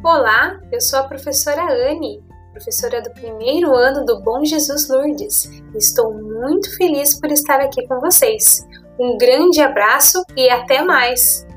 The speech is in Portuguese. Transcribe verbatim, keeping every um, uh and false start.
Olá, eu sou a professora Anne, professora do primeiro ano do Bom Jesus Lourdes. Estou muito feliz por estar aqui com vocês. Um grande abraço e até mais!